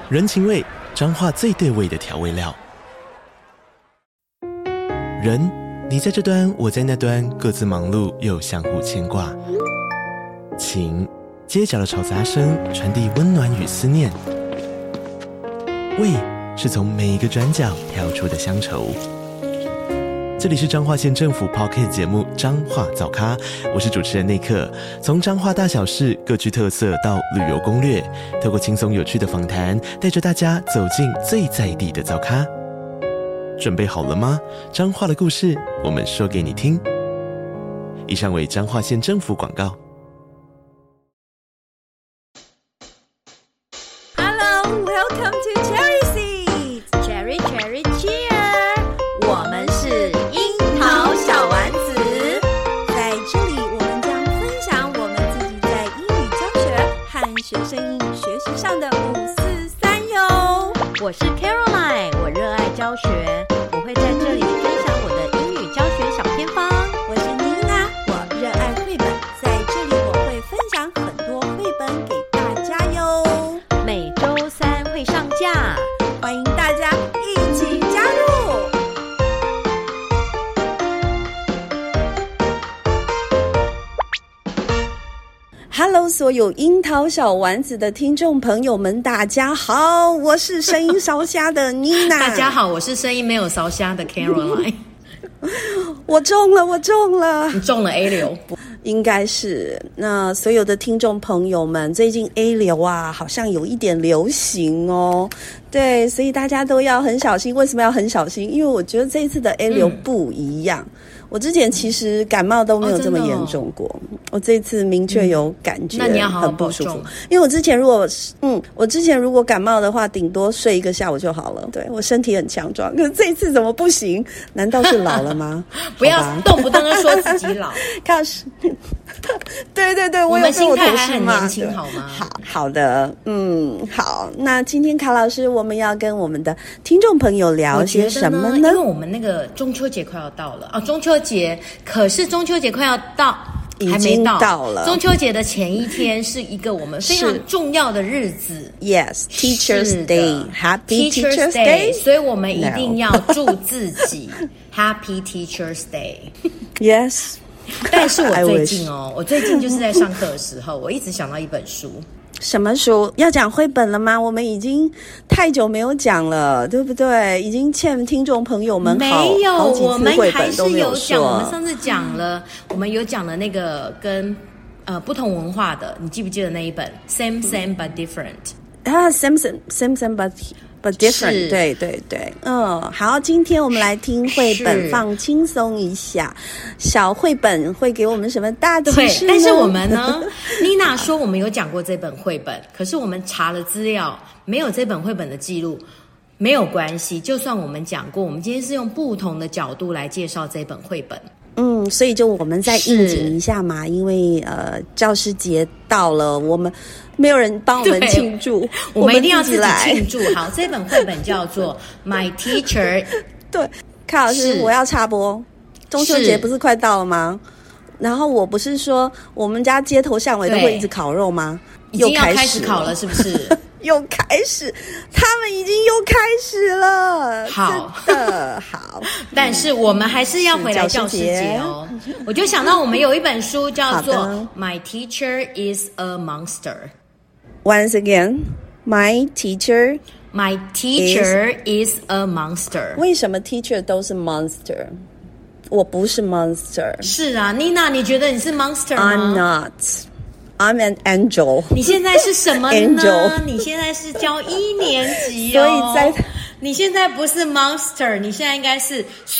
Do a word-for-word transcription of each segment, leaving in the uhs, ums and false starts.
人情味，彰化最對味的調味料。人，你在這端，我在那端，各自忙碌又相互牽掛。情，街角的吵雜聲傳遞溫暖與思念。味，是從每一個轉角跳出的鄉愁。這裡是彰化縣政府 Podcast 節目《彰化早咖》，我是主持人內克。從彰化大小事各具特色到旅遊攻略，透過輕鬆有趣的訪談，帶着大家走進最在地的早咖。準備好了嗎？彰化的故事，我們說給你聽。以上為彰化縣政府廣告。 Hello, welcome to Cherry Seeds. Cherry, cherry, cheer. 我們是櫻桃小丸子，在這裡我們將分享我們自己在英語教學和學生英語學習上的五四三喲。我是 Caroline， 我熱愛教學，我會在這裡分享我的英語教學小偏方。我是妮娜，我熱愛繪本，在這裡我會分享很多繪本給大家喲。每週三會上架，歡迎大家一起加入。Hello， 所有櫻桃小丸子的聽眾朋友們，大家好，我是聲音燒瞎的妮娜。 大家好，我是聲音沒有燒瞎的 Caroline。 我中了，我中了， 你中了 A 流， 應該是。那所有的聽眾朋友們，最近 A 流啊，好像有一點流行哦。對，所以大家都要很小心。為什麼要很小心？因為我覺得這一次的 A 流不一樣。嗯，我之前其實感冒都沒有這麼嚴重過，哦哦，我這次明確有感覺， 那你要好好很不舒服。 保重。 因為我之前如果嗯，我之前如果感冒的話，頂多睡一個下午就好了。對，我身體很強壯，可是這一次怎麼不行？難道是老了嗎？ 不要動不動就說自己老。 看是，對對對，我有被我同事罵。我們心態還很年輕，好嗎？好好的，嗯，好。那今天卡老師，我們要跟我們的聽眾朋友聊些什麼呢？ 呢因為我們那個中秋節快要到了啊，中秋節，可是中秋節快要到，還沒到， 到了。 中秋節的前一天是一個我們非常重要的日子。 Yes, Teacher's Day，Happy Teacher's Day。 所以我們一定要祝自己 Happy Teacher's Day。Yes。但是我最近哦，我最近就是在上課的時候，我一直想到一本書。 什麼書？要講繪本了嗎？我們已經太久沒有講了，對不對？已經欠聽眾朋友們好沒有， 好幾次繪本都沒有說。 我們還是有講，我們上次講了，我們有講了那個跟呃不同文化的，你記不記得那一本 Same Same But Different？啊 ，Same Same Same Same But But Different， 對對對，嗯，好，今天我們來聽繪本，放輕鬆一下。小繪本會給我們什麼大啟示呢？ 但是我們呢，妮娜說我們有講過這本繪本，可是我們查了資料，沒有這本繪本的記錄，沒有關係。就算我們講過，我們今天是用不同的角度來介紹這本繪本。 嗯，所以就我們再應景一下嘛，因為呃，教師節到了，我們沒有人幫我們慶祝，我們， 我們一定要自己來慶祝。好，這本繪本叫做《My Teacher》。 對，卡老師，我要插播，中秋節不是快到了嗎？然後我不是說我們家街頭巷尾都會一直烤肉嗎？ 已經要開始烤了，是不是？ 又開始，他們已經又開始了。 好真的好， 但是我們還是要回來教師節哦。我就想到我們有一本書叫做《My Teacher is a Monster》。 Once again, my teacher, my teacher is, is a monster. 為什麼 teacher 都是 monster？ 我不是 monster。 是啊，妮娜，你覺得你是 monster 嗎？ I'm not. I'm an angel. 你現在是什麼呢 Angel 你現在是教一年級哦，所以在你現在不是 monster， 你現在應該是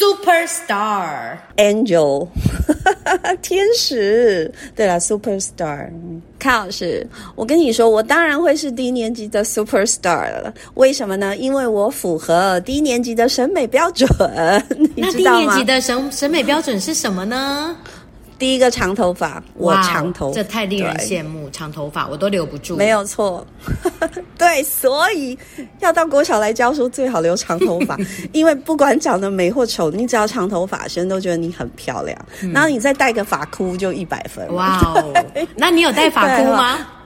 superstar angel 天使。對了 superstar。卡老師，我跟你說，我當然會是低年級的 superstar 了。為什麼呢？因為我符合低年級的審美標準。你知道嗎？ 那低年級的審審美標準是什麼呢？ 第一個長頭髮，我長頭髮， 這太令人羨慕。長頭髮我都留不住。 沒有錯，對，所以要到國小來教書，最好留長頭髮，因為不管長得美或醜，你只要長頭髮，學生都覺得你很漂亮。嗯、然後你再戴個髮箍，就一百分。 哇哦！那你有戴髮箍嗎？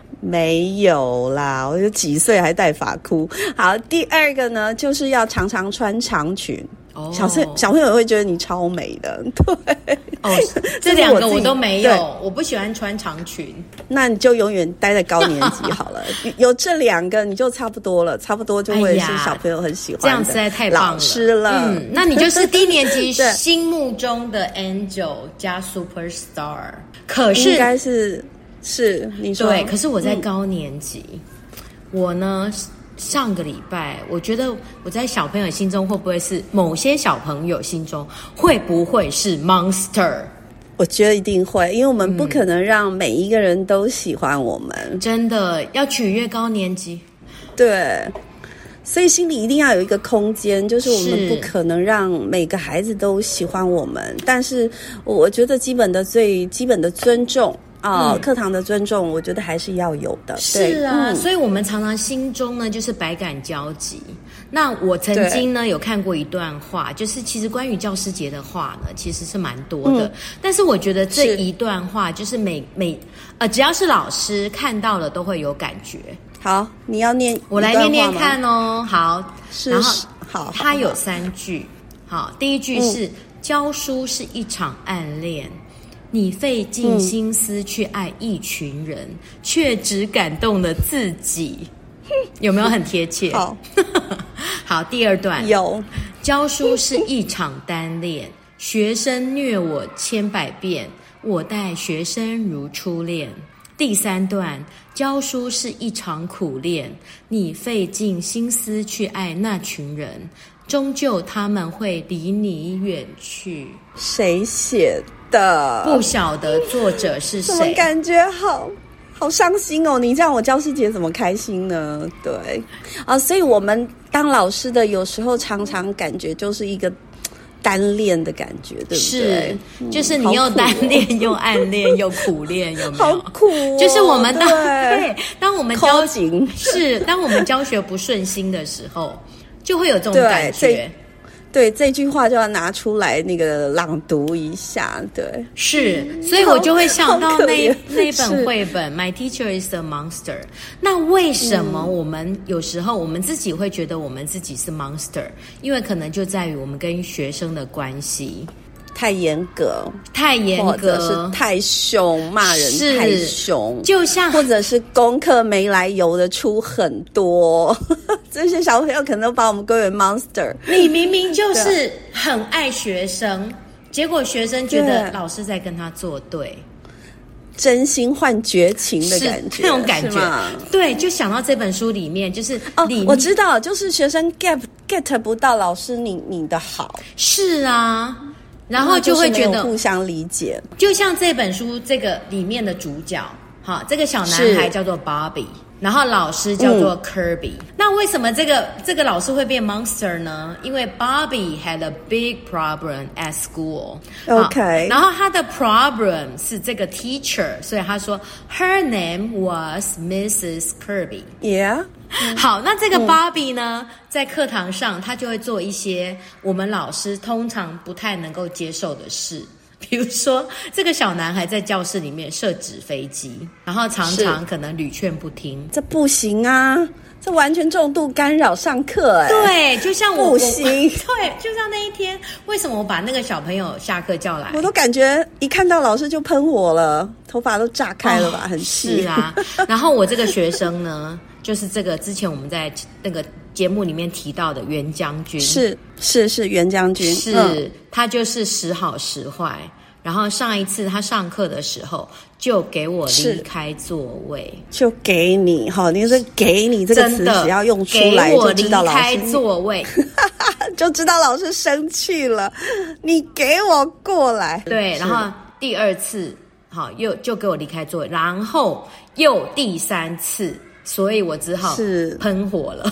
沒有啦，我就幾歲還戴髮箍。好，第二個呢，就是要常常穿長裙。Oh. 小朋小朋友會覺得你超美的，對。 哦，這兩個我都沒有，我不喜歡穿長裙。 那你就永遠待在高年級好了。有這兩個你就差不多了，差不多就會是小朋友很喜歡的。 哎、這樣實在太棒了，老師了。 嗯，那你就是低年級心目中的 angel 加 superstar。可是應該是是你說對，可是我在高年級，嗯、我呢。上個禮拜，我覺得我在小朋友心中會不會是某些小朋友心中會不會是 monster？ 我覺得一定會，因為我們不可能讓每一個人都喜歡我們， 嗯、真的要取悅高年級。 對，所以心裡一定要有一個空間，就是我們不可能讓每個孩子都喜歡我們，但是我覺得基本的最基本的尊重。啊、哦，課、嗯、堂的尊重，我覺得還是要有的。 是啊、 嗯， 所以我們常常心中呢就是百感交集。那我曾經呢有看過一段話，就是其實關於教師節的話呢，其實是蠻多的。嗯、但是我覺得這一段話就是每每呃，只要是老師看到了都會有感覺。 好，你要念， 我來念念看哦。好， 是然後好，好， 它有三句。好，第一句是、嗯、教書是一場暗戀。你費盡心思去愛一群人，嗯、卻只感動了自己，有沒有很貼切？ 好， 好，第二段有， 教書是一場單戀，學生虐我千百遍，我待學生如初戀。第三段，教書是一場苦戀，你費盡心思去愛那群人，終究他們會離你遠去。 誰寫的？ 不曉得作者是誰。 怎麼感覺好好傷心哦？你這樣我教師節怎麼開心呢？對啊，所以我們當老師的有時候常常感覺就是一個單戀的感覺，對不对？ 是，就是你又單戀、嗯、又暗戀又苦戀，有沒有？ 好苦、哦！ 就是我們當對，對，當我們教是當我們教學不順心的時候，就會有這種感覺。 對，這句話就要拿出來那個朗讀一下。對， 是，所以我就會想到那那本繪本《My Teacher is a Monster》。那為什麼我們有時候我們自己會覺得我們自己是 monster？因為可能就在於我們跟學生的關係太嚴格， 太嚴格， 或者是太凶，罵人太凶， 就像或者是功課沒來由的出很多。這些小朋友可能都把我們歸為 monster。你明明就是很愛學生，結果學生覺得老師在跟他作對， 真心換絕情的感覺， 那種感覺。對，就想到這本書裡面，就是哦，我知道，就是學生 get get 不到老師你你的好。 是啊，然後就會覺得互相理解。 就像這本書這個裡面的主角，哈，這個小男孩叫做 Bobby。然後老師叫做 Kirby、嗯。那為什麼這個這個老師會變 monster 呢？因為 Bobby had a big problem at school。OK。然後他的 problem 是這個 teacher，所以他說 her name was Missus Kirby。Yeah。好，那這個 Bobby 呢，嗯、在課堂上他就會做一些我們老師通常不太能夠接受的事。比如說，這個小男孩在教室裡面設紙飛機，然後常常可能屢勸不聽。這不行啊，這完全重度干擾上課哎。 對，就像我不行。 對，就像那一天，為什麼我把那個小朋友下課叫來， 我都感覺一看到老師就噴火了，頭髮都炸開了吧，哦、很氣。 是啊，然後我這個學生呢，就是這個之前我們在那個節目裡面提到的袁將軍， 是是是袁將軍， 是、嗯、他就是時好時壞。然後上一次他上課的時候，就給我離開座位， 就給你哈，你是給你這個詞，只要用出來就知道老師給我離開座位， 就知道老師生氣了。你給我過來， 對，然後第二次好又就給我離開座位，然後又第三次，所以我只好是噴火了，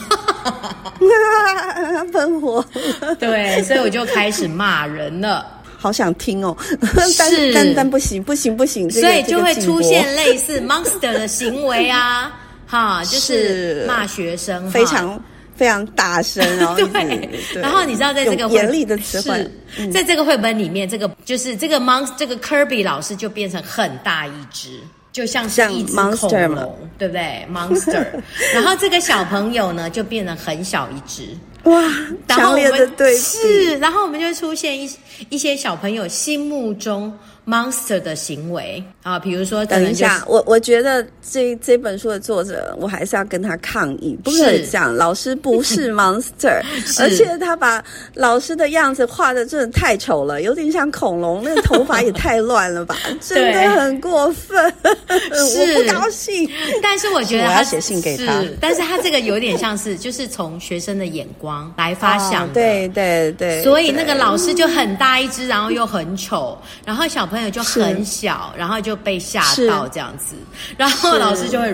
噴火， 對，所以我就開始罵人了。 好想聽哦，但是但但不行不行不行， 所以就會出現類似 monster 的行為啊，哈，就是罵學生， 非常非常大聲哦。 對，對，然後你知道在這個嚴厲的詞彙， 嗯、在這個繪本裡面，這個就是這個 monster 這個 Kirby 老師就變成很大一隻。 就像是一隻恐龍，對不對 ？Monster。然後這個小朋友呢，就變得很小一隻。 哇，強烈的對比。 是，然後我們就會出現一一些小朋友心目中 monster 的行為啊，比如說、就是， 等一下，我我覺得這這本書的作者，我還是要跟他抗議，不可以這樣，老師不是 monster， 是而且他把老師的樣子畫的真的太醜了，有點像恐龍，那個頭髮也太亂了吧，真的很過分，我不高興。但是我覺得他我要寫信給他， 但是他這個有點像是就是從學生的眼光來發想的， 哦、對對對， 所以那個老師就很大一隻，然後又很醜，然後小朋友朋友就很小，然後就被嚇到這樣子，然後老師就會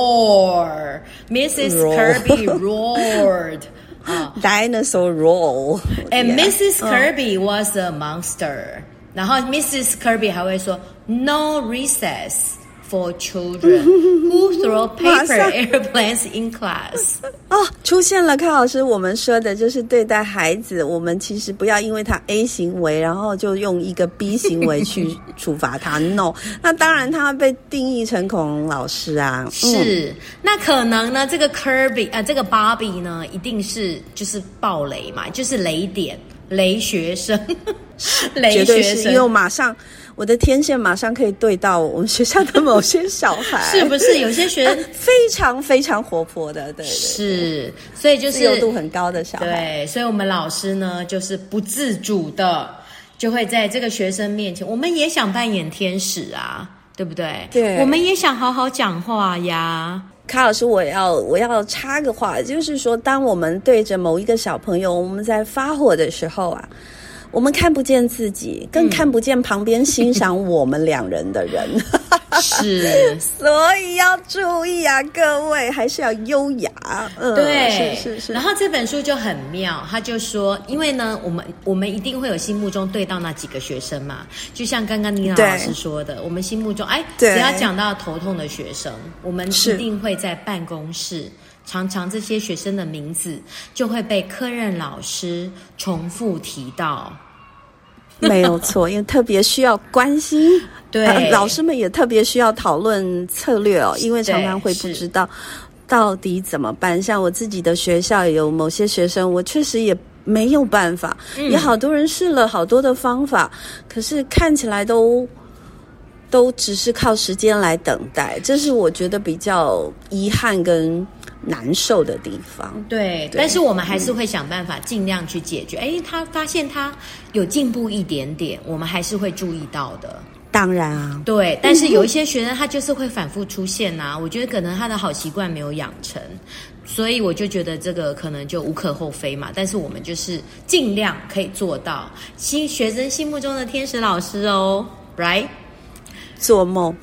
roar，Missus Kirby roared， uh, dinosaur roar， and yeah. Missus Kirby was a monster， 然後 Missus Kirby 還會說 No recess for children who throw paper airplanes in class。 哦，出現了，康老師，我們說的就是對待孩子，我們其實不要因為他 A 行為，然後就用一個 B 行為去處罰他。No， 那當然他會被定義成恐龍老師啊。 是， 嗯、 那可能呢，這個 Kirby 啊、呃，這個 Bobby 呢，一定是就是暴雷嘛，就是雷點，雷學生，雷學生，絕對是，因為我馬上。我的天線馬上可以對到我們學校的某些小孩， 是不是有些學生、呃、 非常非常活潑的？对，對，對， 是，所以就是自由度很高的小孩。 對，所以我們老師呢，就是不自主的就會在這個學生面前，我們也想扮演天使啊，對不對？對，我們也想好好講話呀。 卡老師，我要我要插個話，就是說，當我們對着某一個小朋友，我們在發火的時候啊。我們看不見自己，更看不見旁邊欣賞我們兩人的人。 嗯、是， 所以要注意啊，各位還是要優雅。嗯， 對， 是是是。 然後這本書就很妙，他就說，因為呢，我們我們一定會有心目中對到那幾個學生嘛，就像剛剛妮娜老師說的，我們心目中，哎，只要講到頭痛的學生，我們一定會在辦公室。常常這些學生的名字就會被科任老師重複提到， 沒有錯，因為特別需要關心。 對、 呃，老師們也特別需要討論策略哦，因為常常會不知道到底怎麼辦。像我自己的學校有某些學生，我確實也沒有辦法，嗯、也好多人試了好多的方法，可是看起來都。都只是靠時間來等待，這是我覺得比較遺憾跟難受的地方。 對，對，但是我們還是會想辦法盡量去解決。哎，他發現他有進步一點點，我們還是會注意到的。 當然啊， 對，但是有一些學生他就是會反覆出現啊，我覺得可能他的好習慣沒有養成，所以我就覺得這個可能就無可厚非嘛。但是我們就是盡量可以做到新學生心目中的天使老師哦 ，right？ 做夢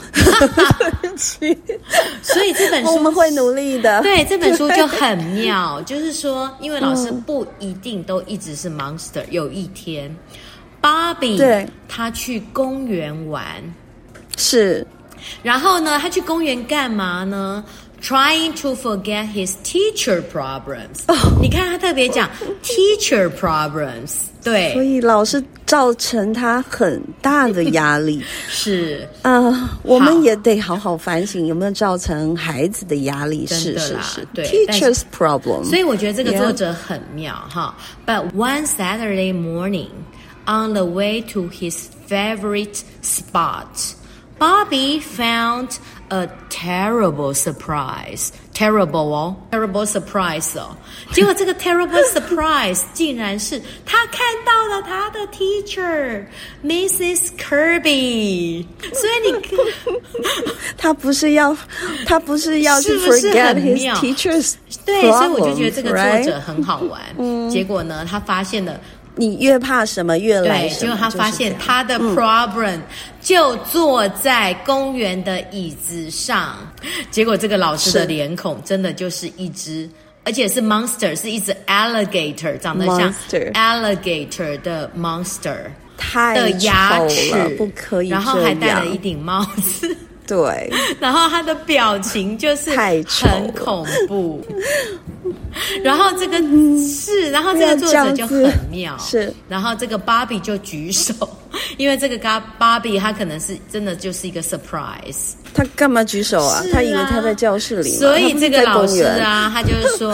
所以這本書我們會努力的。 對，這本書就很妙，就是說，因為老師不一定都一直是 monster。有一天，Bobby 對他去公園玩， 是， 然後呢，他去公園幹嘛呢？Trying to forget his teacher problems。Oh, 你看他特別講 teacher problems， 對， 所以老師造成他很大的壓力。 是， 呃，我們也得好好反省有沒有造成孩子的壓力。是是是，對 ，teacher's problem。 所以我覺得這個作者很妙哈。Yeah. But one Saturday morning, on the way to his favorite spot, Bobby found a terrible surprise. Terrible 哦 terrible surprise 哦。結果這個 terrible surprise 竟然是他看到了他的 teacher Missus Kirby。所以你他不是要他不是要去 forget his teacher's problem， 對，所以我就覺得這個作者很好玩。嗯、結果呢，他發現了。 你越怕什麼越來什麼， 對，結果他發現他的 problem、嗯、就坐在公園的椅子上，結果這個老師的臉孔真的就是一隻，而且是 monster， 是一隻 alligator， 長得像 alligator 的 monster， 太的牙齒不可以， 然後還戴了一頂帽子。 對， 然後他的表情就是很恐怖，然後這個是，然後這個作者就很妙，是，然後這個芭比就舉手， 因為這個 Barbie 他可能是真的就是一個 surprise。 他幹嘛舉手啊？ 啊他以為他在教室裡嘛。 所以這個老師啊，他就是說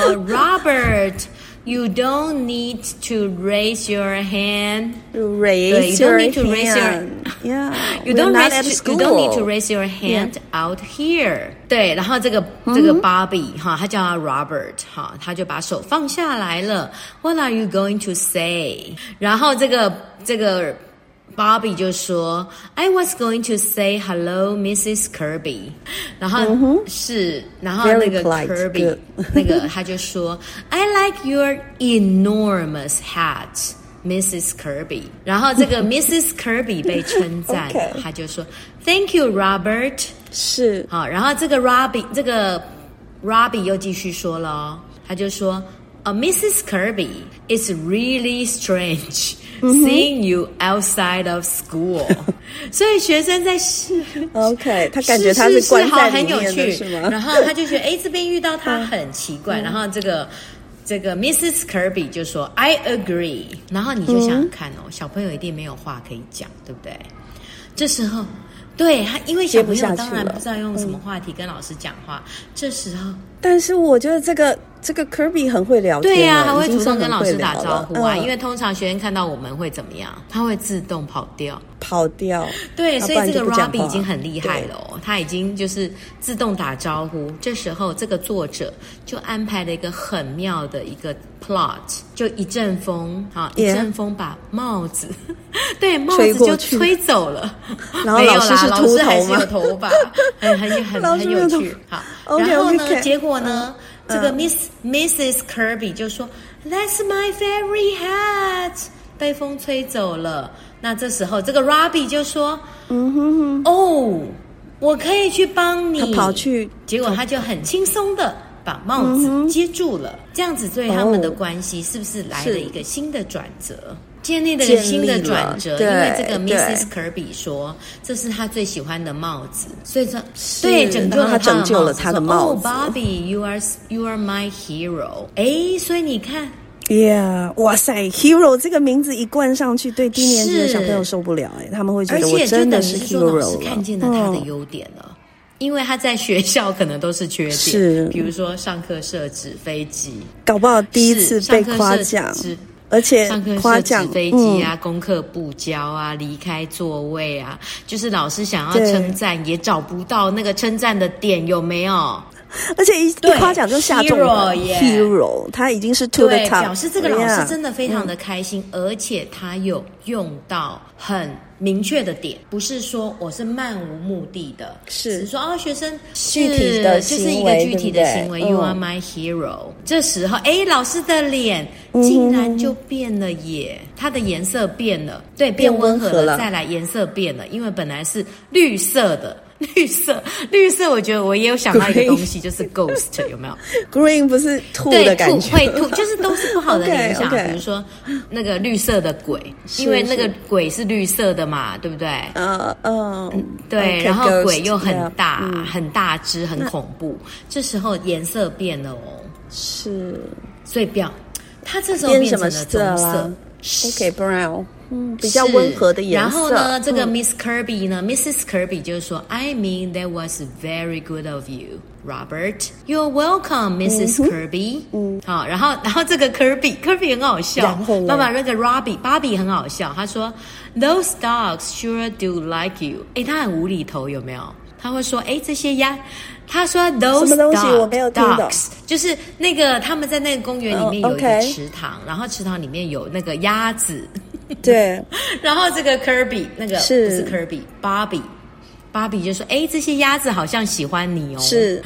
，Robert。You don't need to raise your hand. Raise you your don't need to hand. raise your Yeah. You don't not raise at to, school. You don't need to raise your hand Yeah. out here. 對，然後這個、嗯、這個 Barbie 哈，他叫他 Robert 哈，他就把手放下來了。What are you going to say? 然後這個這個。Barbie 就說 I was going to say hello Missus Kirby 然後、嗯、是然後那個 Kirby 那個他就說 I like your enormous hat Missus Kirby 然後這個 Missus Kirby 被稱讚okay. 他就說 Thank you Robert 是好，然後這個 Robbie 這個 Robbie 又繼續說了他就說Uh, Missus Kirby, it's really strange、mm-hmm. seeing you outside of school. 所以學生在試 OK 他感覺他是關在裡面的是嗎？ 然後他就覺得哎，這邊遇到他很奇怪。然後這個這個 Missus Kirby 就說 I agree. 然後你就想想看哦，小朋友一定沒有話可以講，對不對？這時候對他，因為小朋友當然不知道用什麼話題跟老師講話。這時候， 但是我覺得這個。這個 Kirby 很會聊天， 對呀、啊，他會主動跟老師打招呼啊、 嗯。 因為通常學生看到我們會怎麼樣？他會自動跑掉， 跑掉。 對，所以這個 Robbie 已經很厲害了哦，他已經就是自動打招呼。這時候，這個作者就安排了一個很妙的一個 plot， 就一陣風啊，一陣風把帽子， yeah. 對，帽子就吹走了。 然後老師是禿頭嗎？ 老師還是有頭髮，很很很很有趣。好， okay, 然後呢， okay. 結果呢？嗯這個 Miss、嗯、Missus Kirby 就說 That's my favorite hat 被風吹走了。那這時候這個 Robbie 就說嗯哼哼哦，我可以去幫你。 他跑去， 結果他就很輕鬆的把帽子接住了、嗯、這樣子對他們的關係是不是來了一個新的轉折？建立了一個新的轉折，因為這個 Missus Kirby 說這是他最喜歡的帽子，所以說對拯救了他拯救了他的帽子。Oh Barbie, you are you are my hero。哎，所以你看 ，Yeah， 哇塞 ，Hero 這個名字一冠上去，對低年級的小朋友受不了哎，他們會覺得我真的是 Hero 了。 老師看見了他的優點了。嗯因為他在學校可能都是缺點， 是比如說上課設置飛機， 搞不好第一次被誇獎，而且上課設置飛機啊、嗯，功課不交啊，離開座位啊，就是老師想要稱讚也找不到那個稱讚的點，有沒有？ 而且一一誇獎就下中了 Hero, Hero， 他已經是 to the top， 表示這個老師真的非常的開心， yeah, 而且他有用到很明確的點，不是說我是漫無目的的，是只是說哦，學生具體的就是一個具體的行為，對對 ，You are my hero、嗯。這時候，哎，老師的臉竟然就變了耶，嗯、它的顏色變了，對，變溫和了，和了再來顏色變了，因為本來是綠色的。綠色，綠色，我覺得我也有想到一個東西，就是 ghost 有沒有 ？Green 不是兔的感覺， 對，兔會兔，就是都是不好的聯想。Okay, okay. 比如說那個綠色的鬼，因為那個鬼是綠色的嘛，對不對？嗯嗯，對， okay, 然後鬼又很大，yeah, 很大只，很恐怖。這時候顏色變了哦，是，所以表它這時候變成了棕色。 OK brown， 嗯，比較溫和的顏色。 然後呢，這個 Miss Kirby 呢、嗯、，Missus Kirby 就是說 ，I mean that was very good of you, Robert. You're welcome, Missus Kirby。嗯，好，然後然後這個 Kirby，Kirby 很好笑。爸爸那個 Robbie，Barbie 很好笑。他說 ，Those dogs sure do like you。哎，他很無厘頭，有沒有？他會說，哎，這些鴨。他說 those dogs, dogs 就是那個他們在那個公園裡面有一個池塘， oh, okay. 然後池塘裡面有那個鴨子， 對， 然後這個 Kirby 那個是不是 Kirby Barbie Barbie 就說，哎，這些鴨子好像喜歡你哦，是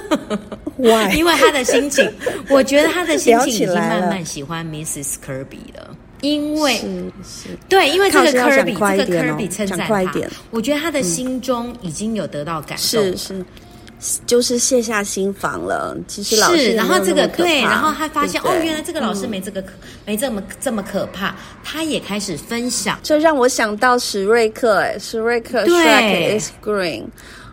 ，Why？ 因為他的心情，我覺得他的心情已經慢慢喜歡 Missus Kirby 了。因為是是對，因為這個 Kirby、哦、這個 Kirby 稱讚他，我覺得他的心中已經有得到感動了，嗯、是是，就是卸下心防了。其實老師是， 然後這個對，然後他發現對對哦，原來這個老師沒這個、嗯、沒這麼這麼可怕，他也開始分享， 這讓我想到史瑞克，哎，史瑞克 Shrek is green。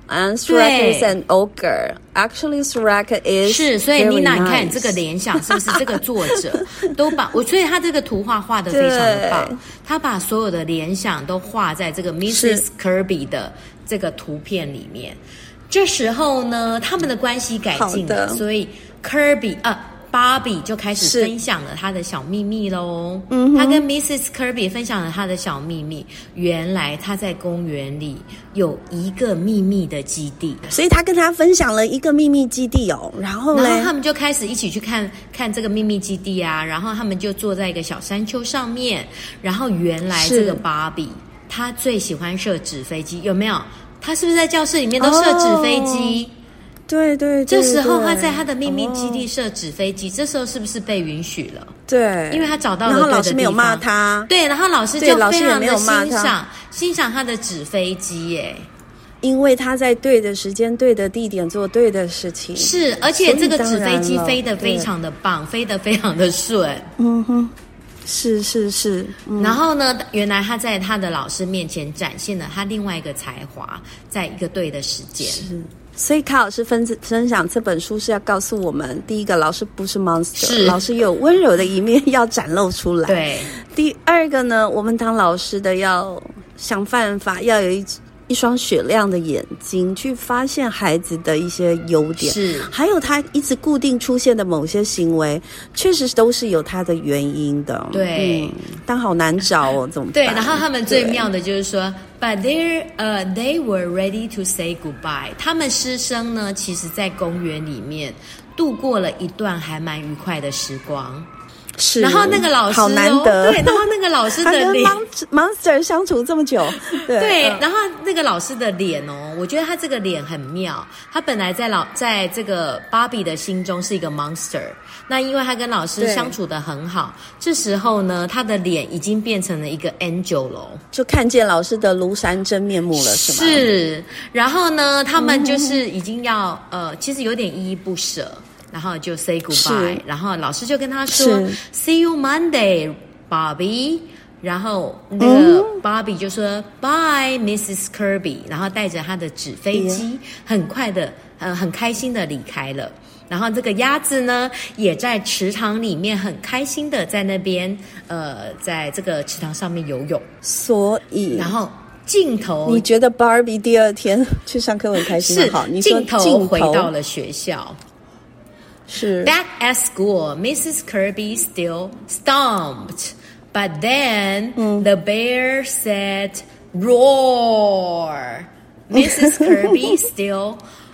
And Shrek is an ogre. Actually, Shrek is 是，所以 Nina， nice. 你看这個聯想是不是這個作者都把我，所以他這個圖畫畫得非常的棒，他把所有的聯想都畫在這個 missus Kirby 的這個圖片裡面。這時候呢，他們的關係改進了，所以 Kirby 啊。Barbie 就開始分享了他的小秘密咯。嗯，他跟 missus Kirby 分享了他的小秘密，原來他在公園裡有一個秘密的基地， 所以他跟他分享了一個秘密基地哦。然後呢， 然後他們就開始一起去看看這個秘密基地啊。然後他們就坐在一個小山丘上面。然後原來這個 Barbie 他最喜歡射紙飛機，有沒有？他是不是在教室裡面都射紙飛機？哦對對對， 這時候他在他的秘密基地射紙飛機，哦，這時候是不是被允許了？ 對， 因為他找到了對的地方。 然後老師沒有罵他， 對，然後老師就非常的欣賞欣賞他的紙飛機耶， 因為他在對的時間、對的地點做對的事情。 是，而且這個紙飛機飛得非常的棒，飛得非常的順。嗯哼， 是是是，嗯。 然後呢，原來他在他的老師面前展現了他另外一個才華，在一個對的時間。 是。所以卡老師分分享這本書是要告訴我們，第一個，老師不是 monster， 老師也有溫柔的一面要展露出來。 對， 第二個呢，我們當老師的要想辦法，要有一一雙雪亮的眼睛，去發現孩子的一些優點， 是， 還有他一直固定出現的某些行為，確實都是有他的原因的。 對， 嗯，但好難找哦，怎麼辦？ 對，然後他們最妙的就是說。But they, uh, they were ready to say goodbye. 他們師生呢，其實在公園裡面度過了一段還蠻愉快的時光。 是， 然後那個老師， 好難得。 對，然後那個老師的臉， 他跟 monster 相處這麼久，對， 對，然後那個老師的臉哦，我覺得他這個臉很妙。他本來在老在這個芭比的心中是一個 monster， 那因為他跟老師相處得很好，這時候呢，他的臉已經變成了一個 angel 了，就看見老師的廬山真面目了，是嗎？ 是，然後呢，他們就是已經要、嗯、呃，其實有點依依不捨。然後就 say goodbye， 然後老師就跟他說 See you Monday, Bobby。然後那個 Bobby 就說、嗯、Bye, missus Kirby。然後帶着他的紙飛機，很快的，呃，很開心的離開了。然後這個鴨子呢，也在池塘裡面很開心的在那邊，呃，在這個池塘上面游泳。所以，然後鏡頭， 你覺得 Barbie 第二天去上課很開心嗎？好，你說鏡頭回到了學校。 是 Back at school, missus Kirby still stomped, but then、嗯、the bear said, "Roar." missus Kirby still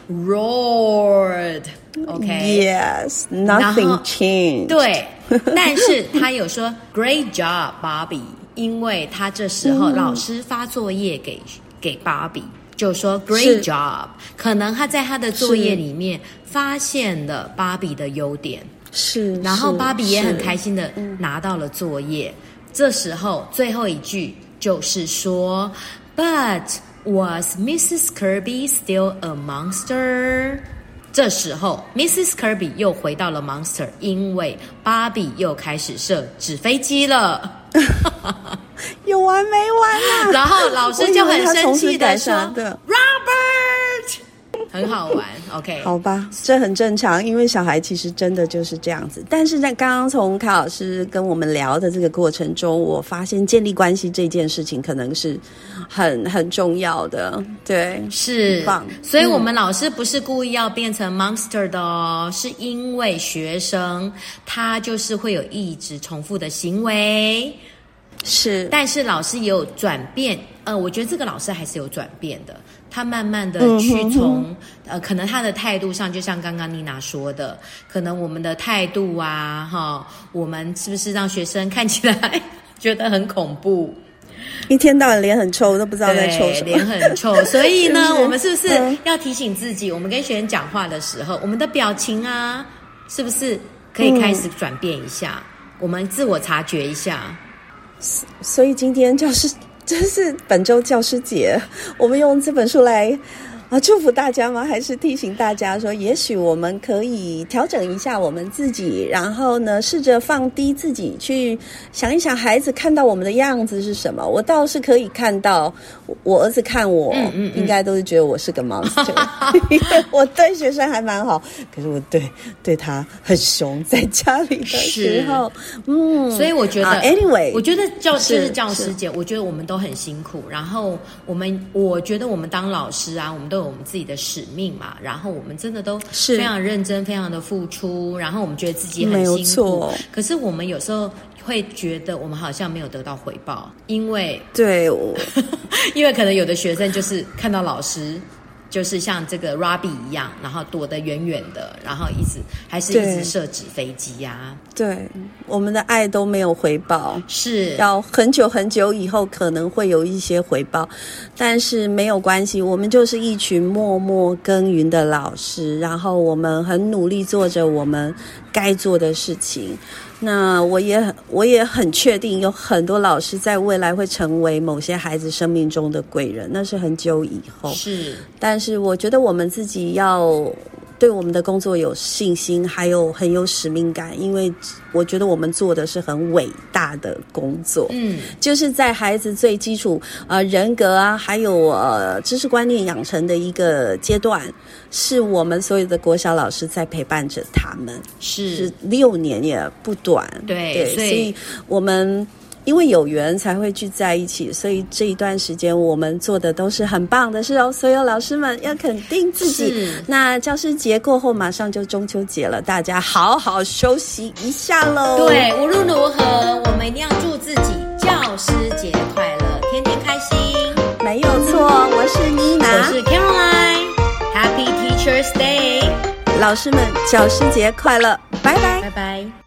roared. Okay. Yes, nothing changed. 對，但是他有說 "Great job, Bobby." 因為他這時候老師發作業給、嗯、給 Bobby。就說 Great job， 可能他在他的作業裡面發現了芭比的優點， 是， 然後芭比也很開心的拿到了作業。這時候最後一句就是說 But was missus Kirby still a monster？ 這時候 missus Kirby 又回到了 monster， 因為芭比又開始射紙飛機了。 有完沒完啊？ 然後老師就很生氣的說 Robert， 很好玩。OK， 好吧，這很正常，因為小孩其實真的就是這樣子。但是在剛剛從卡老師跟我們聊的這個過程中，我發現建立關係這件事情可能是很很重要的。對， 是，棒。所以我們老師不是故意要變成 monster 的哦，嗯、是因為學生他就是會有一直重複的行為。 是， 但是老師也有轉變，呃，我覺得這個老師還是有轉變的。他慢慢的去從、嗯、呃，可能他的態度上，就像剛剛妮娜說的，可能我們的態度啊，哈，我們是不是讓學生看起來覺得很恐怖？ 一天到晚臉很臭，都不知道在臭什麼， 臉很臭。所以呢，我們是不是要提醒自己，我們跟學生講話的時候，我們的表情啊，是不是可以開始轉變一下？嗯、我們自我察覺一下。 所以今天教師，這是本周教師節，我們用這本書來啊，祝福大家嗎？還是提醒大家說，也許我們可以調整一下我們自己，然後呢，試着放低自己，去想一想孩子看到我們的樣子是什麼。我倒是可以看到，我兒子看我，嗯嗯嗯應該都是覺得我是個 monster， 因為我對學生還蠻好，可是我對對他很凶，在家裡的時候，嗯， 所以我覺得、 uh, ，anyway， 我覺得教就是教師節，我覺得我們都很辛苦，然後我們，我覺得我們當老師啊，我們都有我們自己的使命嘛，然後我們真的都非常認真，非常的付出，然後我們覺得自己很辛苦，可是我們有時候會覺得我們好像沒有得到回報，因為對，我因為可能有的學生就是看到老師就是像這個 Robbie 一樣，然後躲得遠遠的，然後一直還是一直射紙飛機呀、啊。 對，我們的愛都沒有回報， 是要很久很久以後可能會有一些回報，但是沒有關係，我們就是一群默默耕耘的老師，然後我們很努力做着我們該做的事情。那我也我也很確定，有很多老師在未來會成為某些孩子生命中的貴人，那是很久以後。 是， 但是我覺得我們自己要對我們的工作有信心，還有很有使命感，因為我覺得我們做的是很偉大的工作。嗯，就是在孩子最基礎呃人格啊，還有呃知識觀念養成的一個階段，是我們所有的國小老師在陪伴着他們。 是， 是六年也不短。 對， 對，所以，所以我們。因為有緣才會聚在一起，所以這一段時間我們做的都是很棒的事哦。所有老師們要肯定自己。那教師節過後馬上就中秋節了，大家好好休息一下嘍。 對，無論如何，我們一定要祝自己教師節快樂，天天開心。 沒有錯，我是妮娜， 我是 Caroline。Happy Teachers Day， 老師們教師節快樂，拜拜， 拜拜。